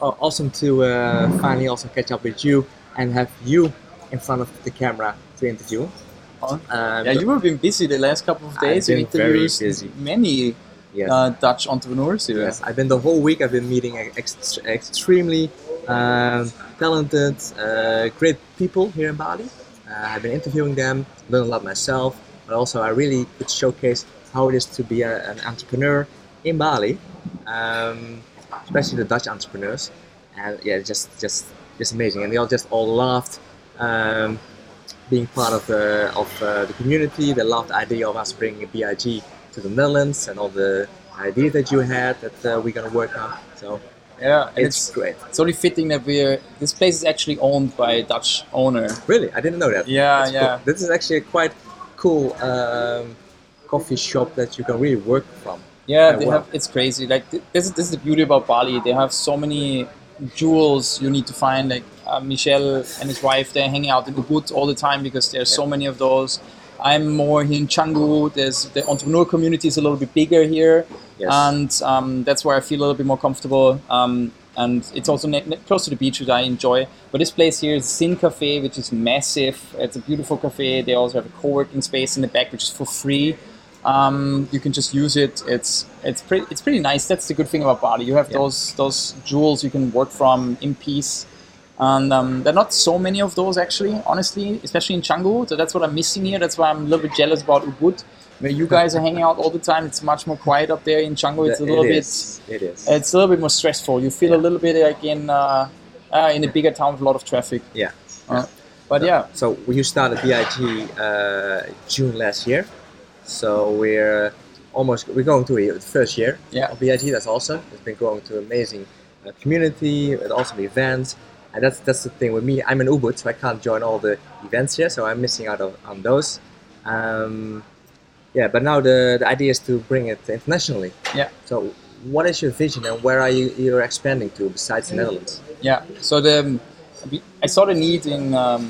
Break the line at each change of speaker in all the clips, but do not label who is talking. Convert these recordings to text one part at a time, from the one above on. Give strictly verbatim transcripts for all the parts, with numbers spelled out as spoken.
Oh, awesome to uh, finally also catch up with you and have you in front of the camera to interview.
Oh.
Um,
yeah, you have been busy the last couple of days.
I've
You
been very
interviewed
busy.
many
Yes.
uh, Dutch entrepreneurs here.
Yes, I've been the whole week. I've been meeting ex- extremely um, talented, uh, great people here in Bali. Uh, I've been interviewing them, learned a lot myself, but also I really could showcase how it is to be a, an entrepreneur in Bali, um, especially the Dutch entrepreneurs. And yeah, just just just amazing. And they all just all loved um, being part of the of uh, the community. They loved the idea of us bringing B I G to the Netherlands and all the ideas that you had that uh, we're gonna work on. So
Yeah, and
it's,
it's
great.
It's only fitting that we're. This place is actually owned by a Dutch owner.
Really, I didn't know that.
Yeah,
That's
yeah.
cool. This is actually a quite cool um, coffee shop that you can really work from.
Yeah,
Quite
they
well.
have. It's crazy. Like th- this is this is the beauty about Bali. They have so many jewels you need to find. Like uh, Michel and his wife, they're hanging out in the woods all the time because there's so
Yeah.
many of those. I'm more here in Canggu. There's the entrepreneur community is a little bit bigger here,
Yes.
and um, that's where I feel a little bit more comfortable. Um, and it's also ne- ne- close to the beach, which I enjoy. But this place here is Sin Cafe, which is massive. It's a beautiful cafe. They also have a co-working space in the back, which is for free. Um, you can just use it. It's it's pretty it's pretty nice. That's the good thing about Bali. You have
Yeah.
those those jewels you can work from in peace. And um, there are not so many of those actually, honestly, especially in Canggu. So that's what I'm missing here. That's why I'm a little bit jealous about Ubud, where you guys are hanging out all the time. It's much more quiet up there in Canggu. It's a little
It
bit,
is. It is.
it's a little bit more stressful. You feel a little bit like in uh, uh, in a bigger town with a lot of traffic.
Yeah.
Uh, but yeah,
So you started B I G uh, June last year. So we're almost we're going to the first year
Yeah.
of B I G. That's awesome. It's been growing to amazing uh, community and awesome events. And that's that's the thing with me. I'm in Ubud, so I can't join all the events here. So I'm missing out on, on those. Um, yeah, but now the, the idea is to bring it internationally.
yeah.
So what is your vision and where are you you're expanding to besides the Netherlands?
Yeah. So the I saw the need in um,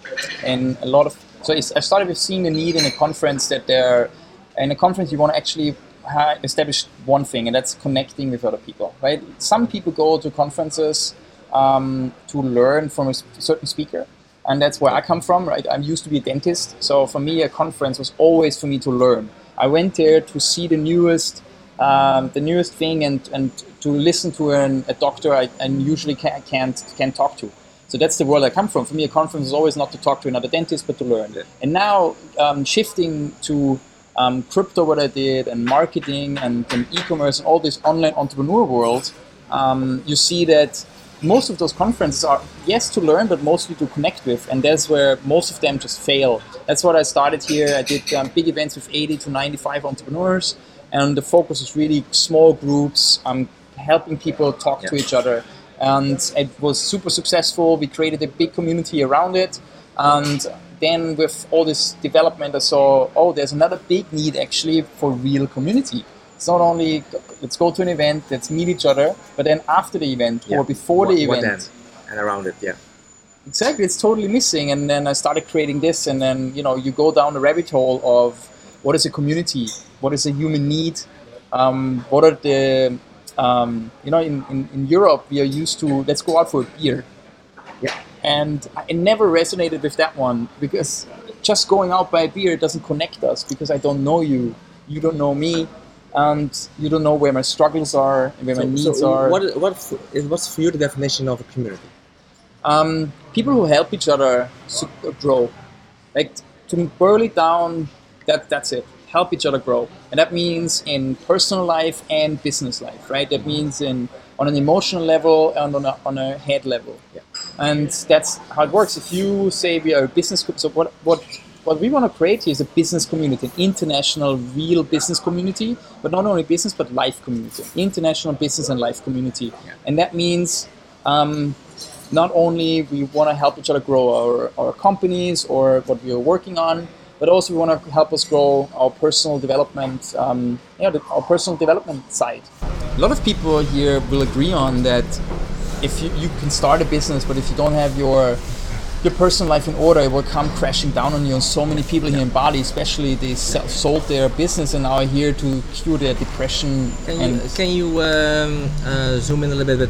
in a lot of. So it's, I started with seeing the need in a conference that there, in a conference you want to actually ha- establish one thing, and that's connecting with other people, right? Some people go to conferences um, to learn from a s- certain speaker, and that's where I come from, right? I used to be a dentist, so for me a conference was always for me to learn. I went there to see the newest. Um, the newest thing and, and to listen to an, a doctor I, I usually can't, can't can't talk to. So that's the world I come from. For me, a conference is always not to talk to another dentist, but to learn.
Yeah.
And now um, shifting to um, crypto, what I did, and marketing and, and e-commerce and all this online entrepreneur world, um, you see that most of those conferences are, yes, to learn, but mostly to connect with. And that's where most of them just fail. That's what I started here. I did um, big events with eighty to ninety-five entrepreneurs. And the focus is really small groups, um, helping people talk
Yeah.
to each other. And it was super successful. We created a big community around it. And then with all this development, I saw, oh, there's another big need actually for real community. It's not only, let's go to an event, let's meet each other, but then after the event
Yeah.
or before
What-
the
what
event.
then? And around it, yeah.
Exactly, it's totally missing. And then I started creating this, and then you know you go down the rabbit hole of what is a community, what is a human need, um, what are the um, you know in, in, in Europe we are used to let's go out for a beer,
Yeah.
and I never resonated with that one because just going out by a beer doesn't connect us because I don't know you, you don't know me, and you don't know where my struggles are and where my needs
so
are.
What, what is what's for you the definition of a community?
Um, people who help each other su- grow. Like to boil it down, that that's it. Help each other grow, and that means in personal life and business life, right? That means in on an emotional level and on a on a head level.
Yeah.
And that's how it works. If you say we are a business, co- so what what what we want to create here is a business community, an international, real business community, but not only business but life community, international business and life community,
Yeah.
and that means. Um, Not only we want to help each other grow our, our companies or what we are working on, but also we want to help us grow our personal development, um, yeah, the, our personal development side. A lot of people here will agree on that if you, you can start a business, but if you don't have your your personal life in order, it will come crashing down on you. And so many people here in Bali, especially, they self sold their business and now are here to cure their depression.
Can
and
you can you um, uh, zoom in a little bit? With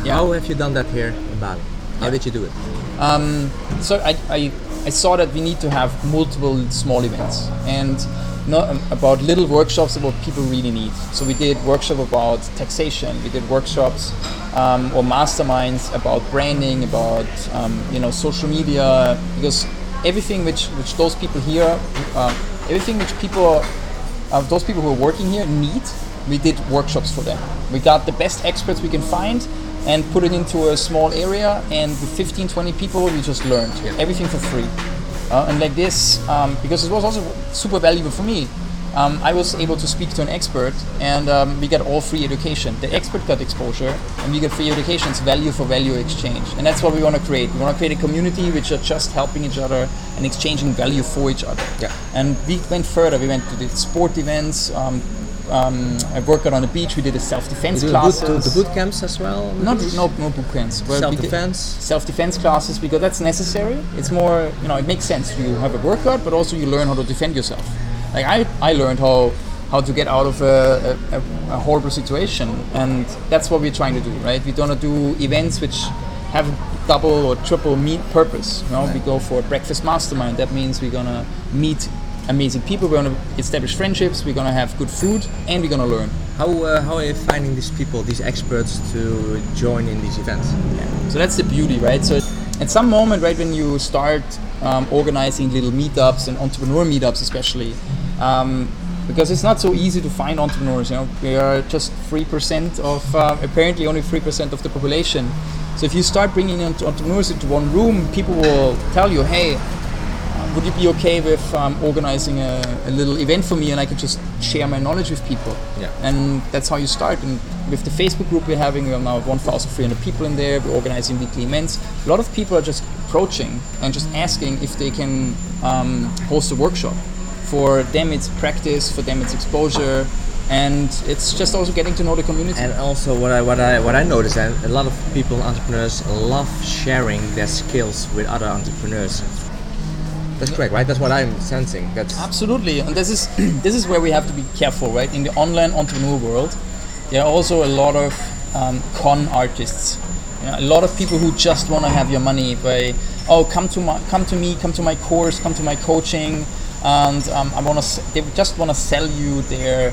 Yeah.
How have you done that here in Bali? How
Yeah.
did you do it?
Um, so I, I, I saw that we need to have multiple small events and not um, about little workshops about people really need. So we did workshop about taxation. We did workshops um, or masterminds about branding, about um, you know social media, because everything which which those people here, uh, everything which people, uh, those people who are working here need, we did workshops for them. We got the best experts we can find and put it into a small area, and with fifteen, twenty people we just learned
Yeah.
everything for free. Uh, and like this, um, because it was also super valuable for me, um, I was able to speak to an expert, and um, we got all free education. The expert got exposure, and we got free education. It's value for value exchange, and that's what we want to create. We want to create a community which are just helping each other and exchanging value for each other.
Yeah.
And we went further. We went to the sport events. Um, um, I worked out on the beach. We did a self-defense
You do
classes.
boot, the boot camps as well?
Not no no boot camps. Well, we did
Self-defense?
Self-defense classes, because that's necessary. It's more, you know, it makes sense. You have a workout, but also you learn how to defend yourself. Like I, I learned how how to get out of a, a, a horrible situation, and that's what we're trying to do, right? We don't do events which have double or triple meet purpose. You know,
Right.
we go for a breakfast mastermind. That means we're gonna meet amazing people. We're gonna establish friendships. We're gonna have good food, and we're gonna learn.
How, uh, how are you finding these people, these experts, to join in these events?
So that's the beauty, right? So at some moment, right, when you start um, organizing little meetups and entrepreneur meetups, especially, um, because it's not so easy to find entrepreneurs. You know, we are just three percent of uh, apparently only three percent of the population. So if you start bringing entre- entrepreneurs into one room, people will tell you, "Hey, would you be okay with um, organizing a, a little event for me, and I could just share my knowledge with people?"
Yeah.
And that's how you start. And with the Facebook group we're having, we're now one thousand three hundred people in there. We're organizing weekly events. A lot of people are just approaching and just asking if they can um, host a workshop. For them, it's practice. For them, it's exposure. And it's just also getting to know the community.
And also, what I what I what I noticed, that a lot of people, entrepreneurs, love sharing their skills with other entrepreneurs. That's correct, right? That's what I'm sensing. That's
Absolutely, and this is this is where we have to be careful, right? In the online entrepreneur world, there are also a lot of um, con artists. You know, a lot of people who just want to have your money by, oh, come to my, come to me, come to my course, come to my coaching, and um, I want to. They just want to sell you their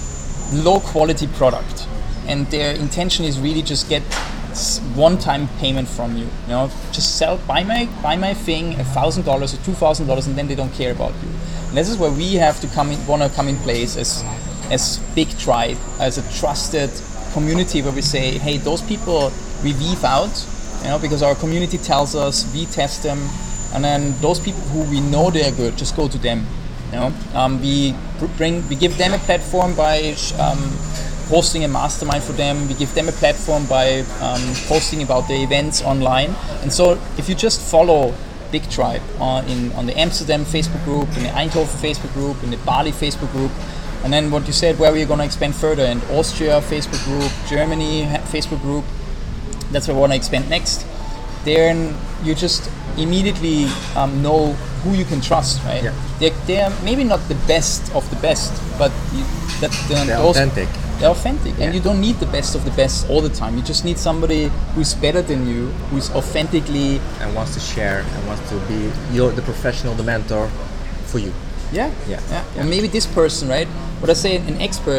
low quality product, and their intention is really just get one-time payment from you. You know, just sell, buy my buy my thing, a thousand dollars or two thousand dollars, and then they don't care about you. And this is where we have to come in, want to come in place as as big tribe, as a trusted community, where we say, hey, those people we weave out, you know, because our community tells us, we test them, and then those people who we know they are good, just go to them. You know, um, we bring, we give them a platform by um, hosting a mastermind for them. We give them a platform by um, posting about the events online. And so, if you just follow Big Tribe on in on the Amsterdam Facebook group, in the Eindhoven Facebook group, in the Bali Facebook group, and then what you said, where we're going to expand further, in Austria Facebook group, Germany Facebook group. That's where we want to expand next. Then you just immediately um, know who you can trust, right?
Yeah.
They're, they're maybe not the best of the best, but you, that
they're
those,
authentic.
They're authentic,
Yeah.
and you don't need the best of the best all the time. You just need somebody who's better than you, who's authentically,
And wants to share and wants to be your the professional, the mentor for you.
yeah,
Yeah.
yeah.
Yeah.
And maybe this person, right? What I say, an expert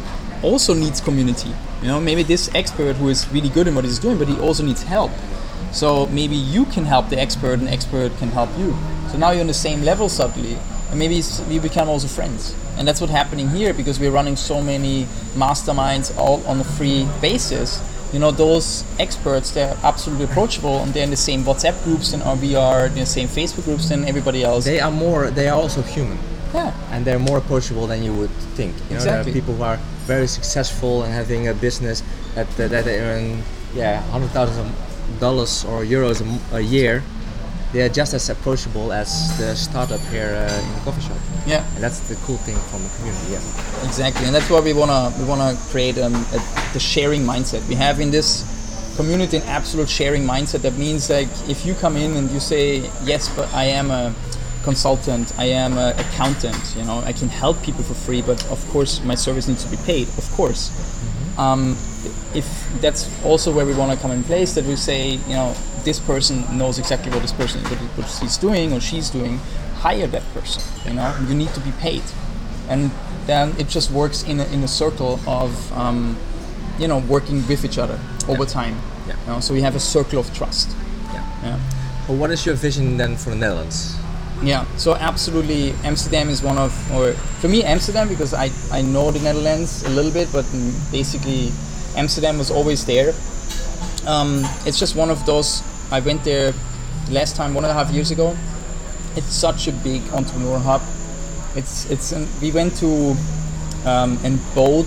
also needs community. You know, maybe this expert who is really good in what he's doing, but he also needs help. So maybe you can help the expert, and the expert can help you. So now you're on the same level suddenly, and maybe it's, we become also friends. And that's what's happening here, because we're running so many masterminds all on a free basis. You know, those experts, they're absolutely approachable, and they're in the same WhatsApp groups, and we are in the same Facebook groups than everybody else.
They are more. They are also human,
yeah.
and they're more approachable than you would think. You know,
Exactly.
there are people who are very successful and having a business that uh, that they earn, yeah, hundred thousand dollars or euros a, m- a year. They are just as approachable as the startup here uh, in the coffee shop,
Yeah.
and that's the cool thing from the community. Yeah.
Exactly, and that's why we wanna we wanna create um, a, the sharing mindset. We have in this community an absolute sharing mindset. That means, like, if you come in and you say, yes, but I am a consultant, I am an accountant, you know, I can help people for free, but of course my service needs to be paid. Of course, um, if that's also where we want to come in place, that we say, you know, this person knows exactly what this person what, what he's doing or she's doing, hire that person. You know, you need to be paid, and then it just works in a, in a circle of um, you know, working with each other over
Yeah.
time.
Yeah.
You know, so we have a circle of trust.
Yeah.
Yeah.
Well, what is your vision then for the Netherlands?
Yeah, so absolutely, Amsterdam is one of, or for me, Amsterdam, because I, I know the Netherlands a little bit, but basically Amsterdam was always there. Um, it's just one of those, I went there last time, one and a half years ago. It's such a big entrepreneur hub. It's, it's an, we went to um, a boat,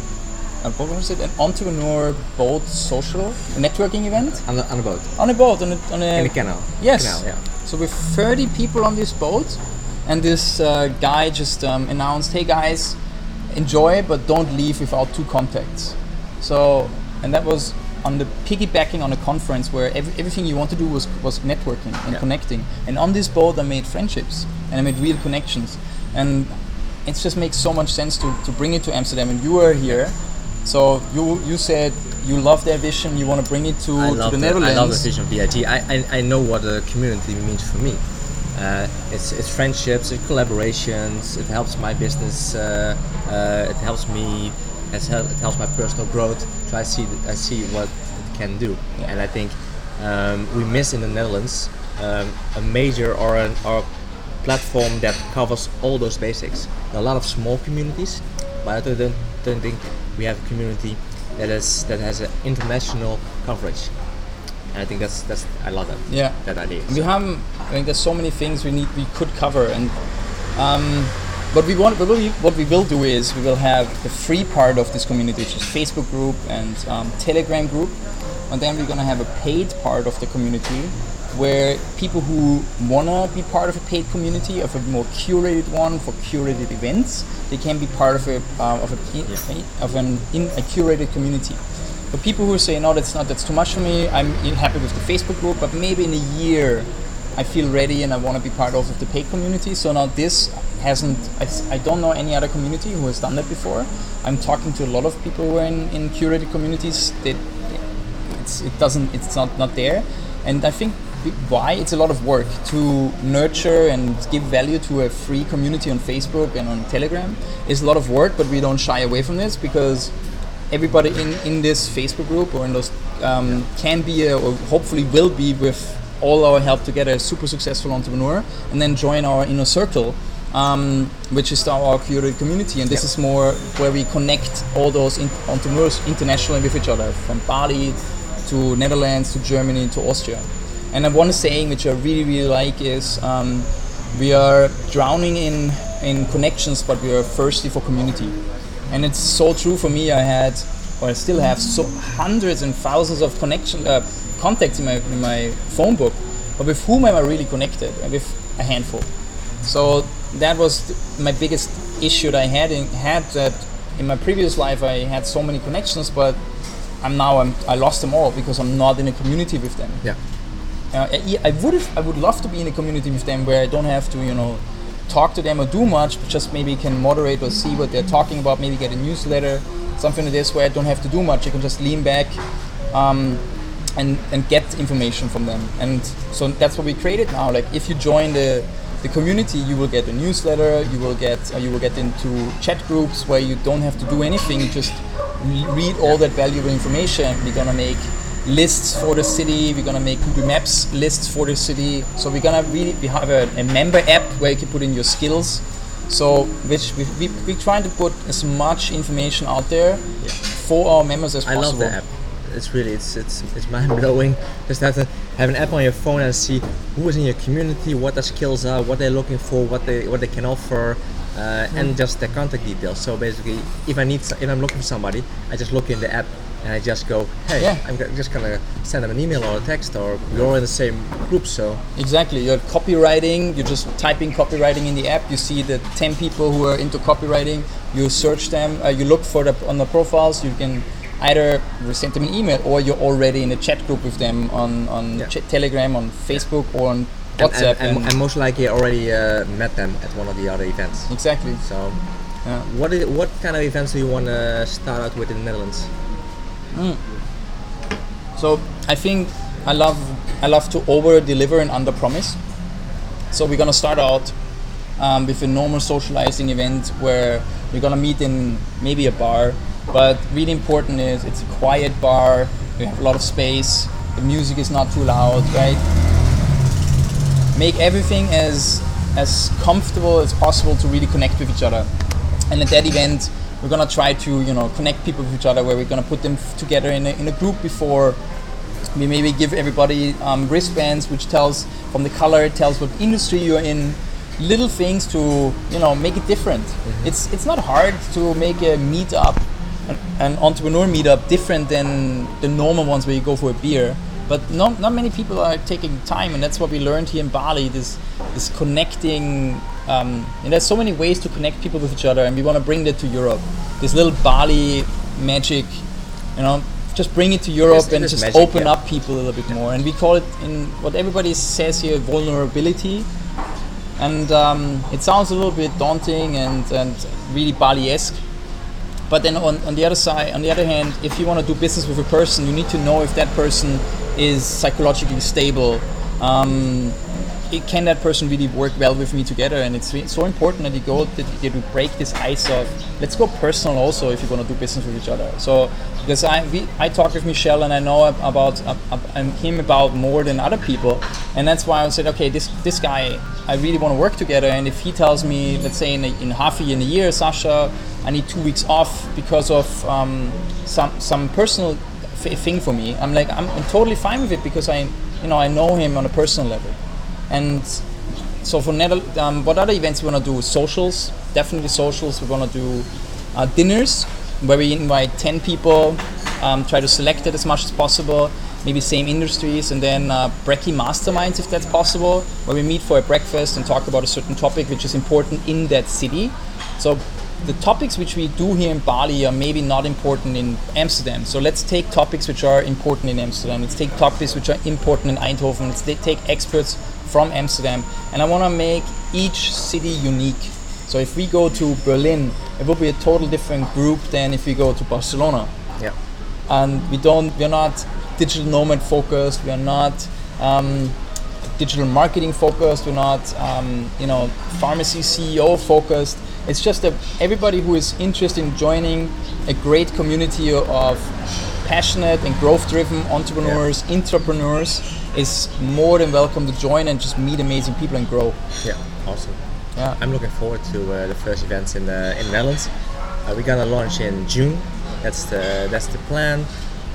uh, what was it, an entrepreneur boat social networking event?
On the, on the boat?
On a boat, on a, on a
In the canal?
Yes.
Canal, yeah.
So with thirty people on this boat, and this uh, guy just um, announced, "Hey guys, enjoy, but don't leave without two contacts." So, and that was on the piggybacking on a conference where every, everything you want to do was was networking and
Yeah.
connecting. And on this boat, I made friendships and I made real connections, and it just makes so much sense to, to bring it to Amsterdam. And you were here, so you you said you love their vision, you want to bring it to,
I
to
love
the
the,
Netherlands.
I love the vision of V I T. I, I, I know what a community means for me. Uh, it's, it's friendships, it's collaborations, it helps my business, uh, uh, it helps me, it, hel- it helps my personal growth. So I see th- I see what it can do.
Yeah.
And I think um, we miss in the Netherlands um, a major or, an, or a platform that covers all those basics. There are a lot of small communities, but I don't, don't think we have a community that is that has an international coverage, and I think that's that's I love that.
Yeah.
That idea.
We have, I think there's so many things we need, we could cover, and um, what we want, what we, what we will do is we will have the free part of this community, which is Facebook group and um, Telegram group, and then we're gonna have a paid part of the community where people who wanna be part of a paid community, of a more curated one for curated events, they can be part of a uh, of a
Yeah.
of an in a curated community. For people who say no, that's not that's too much for me, I'm happy with the Facebook group, but maybe in a year I feel ready and I want to be part of the paid community. So now this hasn't, I, I don't know any other community who has done that before. I'm talking to a lot of people who are in, in curated communities that it's, it doesn't, it's not, not there. And I think why it's a lot of work to nurture and give value to a free community on Facebook and on Telegram is a lot of work, but we don't shy away from this because everybody in, in this Facebook group or in those um, can be a, or hopefully will be with all our help together a super successful entrepreneur and then join our inner circle, um, which is our curated community. And this
Yeah.
is more where we connect all those in- entrepreneurs internationally with each other, from Bali to Netherlands to Germany to Austria. And one saying which I really, really like is um, we are drowning in, in connections, but we are thirsty for community. And it's so true for me. I had, or I still have, so hundreds and thousands of connection uh, contacts in my in my phone book, but with whom am I really connected? With a handful. So that was th- my biggest issue that I had. In, had that in my previous life, I had so many connections, but I'm now I'm, I lost them all because I'm not in a community with them.
Yeah.
Uh, I, I would have, I would love to be in a community with them where I don't have to, you know, talk to them or do much, but just maybe can moderate or see what they're talking about, maybe get a newsletter, something like this where I don't have to do much. I can just lean back um, and and get information from them. And so that's what we created now. Like if you join the the community, you will get a newsletter, you will get uh, you will get into chat groups where you don't have to do anything, just re- read all that valuable information. We're gonna make lists for the city, we're gonna make Google Maps lists for the city. So we're gonna really we have a, a member app where you can put in your skills. So which we we we're trying to put as much information out there
Yeah.
for our members as
I
possible.
love the app. It's really it's it's it's mind blowing. Just have to have an app on your phone and see who is in your community, what their skills are, what they're looking for, what they what they can offer, uh, and just their contact details. So basically, if I need so- if I'm looking for somebody, I just look in the app and I just go, hey,
Yeah.
I'm go- just gonna send them an email or a text, or you're in the same group, so
Exactly. You're copywriting. You're just typing copywriting in the app. You see the ten people who are into copywriting. You search them. Uh, you look for the on the profiles. You can either send them an email or you're already in a chat group with them on on
Yeah.
ch- Telegram, on Facebook, or on
and,
WhatsApp.
and, and, and most likely I already uh, met them at one of the other events.
exactly.
So,
Yeah.
what is what kind of events do you want to start out with in the Netherlands?
So I think I love I love to over deliver and under promise. So we're gonna start out um, with a normal socializing event where we're gonna meet in maybe a bar, but really important is it's a quiet bar. We have a lot of space. The music is not too loud, right? Make everything as as comfortable as possible to really connect with each other. And at that event, we're gonna try to you know connect people with each other, where we're gonna put them f- together in a, in a group before. We maybe give everybody um, wristbands, which tells from the color, it tells what industry you're in. Little things to you know make it different. Mm-hmm. It's it's not hard to make a meetup, an, an entrepreneur meetup, different than the normal ones where you go for a beer. But not not many people are taking time, and that's what we learned here in Bali. This this connecting, um, and there's so many ways to connect people with each other, and we want to bring that to Europe. This little Bali magic, you know. Just bring it to Europe
It is, it
and
is
just
magic,
open
yeah.
up people a little bit more. And we call it, in what everybody says here, vulnerability. And um, it sounds a little bit daunting and, and really Bali-esque. But then on, on the other side, on the other hand, if you want to do business with a person, you need to know if that person is psychologically stable. Um, it, can that person really work well with me together? And it's re- so important that you go that you to break this ice of let's go personal also if you're going to do business with each other. So because I we, I talk with Michel and I know about uh, uh, him about more than other people, and that's why I said okay, this this guy I really want to work together. And if he tells me, let's say in a, in half a year, in a year, Sasha, I need two weeks off because of um, some some personal f- thing for me, I'm like I'm, I'm totally fine with it because I you know I know him on a personal level. And so for Nether- um, what other events we want to do? Socials, definitely socials. We want to do uh, dinners where we invite ten people, um, try to select it as much as possible, maybe same industries, and then uh, brekkie masterminds if that's possible, where we meet for a breakfast and talk about a certain topic which is important in that city. So the topics which we do here in Bali are maybe not important in Amsterdam. So let's take topics which are important in Amsterdam. Let's take topics which are important in Eindhoven. Let's take experts from Amsterdam. And I want to make each city unique. So if we go to Berlin, it will be a total different group than if we go to Barcelona.
Yeah.
And we don't, we're not digital nomad focused. We are not um, digital marketing focused. We're not, um, you know, pharmacy C E O focused. It's just that everybody who is interested in joining a great community of passionate and growth-driven entrepreneurs, yeah. entrepreneurs, is more than welcome to join and just meet amazing people and grow.
Yeah, awesome.
Yeah,
I'm looking forward to uh, the first events in the in the Netherlands. Uh, we're gonna launch in June. That's the that's the plan.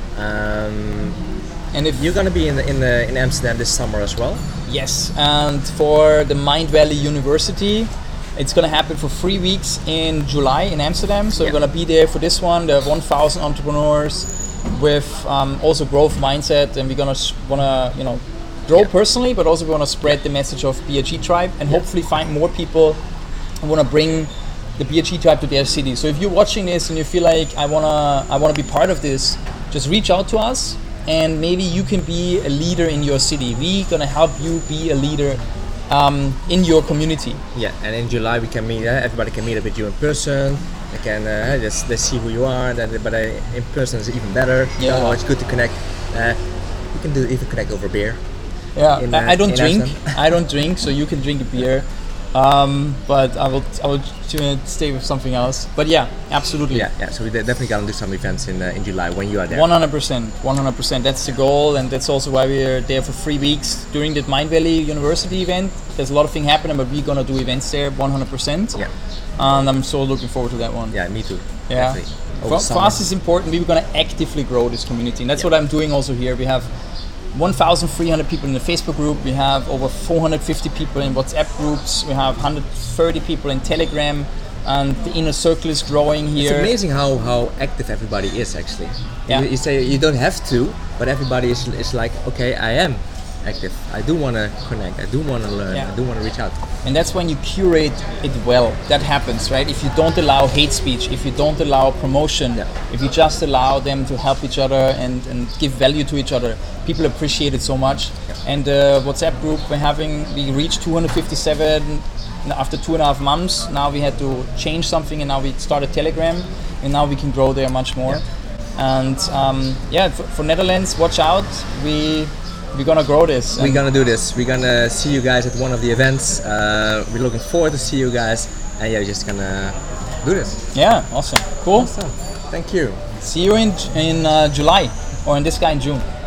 Um, and if you're gonna be in the, in the in Amsterdam this summer as well.
Yes, and for the Mind Valley University. It's going to happen for three weeks in July in Amsterdam. So yeah. We're going to be there for this one. There are one thousand entrepreneurs with um, also growth mindset, and we're going to want to, you know, grow yeah. personally, but also we want to spread the message of B H E Tribe and yeah. hopefully find more people who want to bring the B H E Tribe to their city. So if you're watching this and you feel like I want to, I want to be part of this, just reach out to us, and maybe you can be a leader in your city. We're going to help you be a leader Um, in your community.
Yeah, and in July we can meet. Uh, everybody can meet up with you in person. They can uh, just they see who you are. Then, but uh, in person is even better.
Yeah,
you know, it's good to connect. Uh, you can do even connect over beer.
Yeah,
in,
uh,
uh,
I don't drink.
Amsterdam.
I don't drink, so you can drink a beer. Um, but I will I will stay with something else. But yeah, absolutely.
Yeah, yeah. So we definitely gonna do some events in uh, in July when you are there.
one hundred percent, one hundred percent. That's the goal, and that's also why we're there for three weeks during the Mind Valley University event. There's a lot of things happening, but we're gonna do events there, one hundred percent.
Yeah.
And I'm so looking forward to that one.
Yeah, me too.
Yeah. For, for us, it's important. We're gonna actively grow this community, and that's yeah. what I'm doing also here. We have one thousand three hundred people in the Facebook group. We have over four hundred fifty people in WhatsApp groups. We have one hundred thirty people in Telegram, and the inner circle is growing here.
It's amazing how, how active everybody is actually.
Yeah.
You, you say you don't have to, but everybody is, is like, okay, I am active. I do want to connect. I do want to learn.
Yeah.
I do want to reach out.
And that's when you curate it well. That happens, right? If you don't allow hate speech, if you don't allow promotion,
yeah.
if you just allow them to help each other and, and give value to each other, people appreciate it so much. Yeah. And the WhatsApp group we're having, we reached two hundred fifty-seven after two and a half months. Now we had to change something, and now we started Telegram, and now we can grow there much more. Yeah. And um, yeah, for, for Netherlands, watch out. We we're gonna grow this.
We're gonna do this. We're gonna see you guys at one of the events. Uh, we're looking forward to see you guys, and yeah, we're just gonna do this.
Yeah, awesome, cool.
Awesome. Thank you.
See you in in uh, July, or in this guy in June.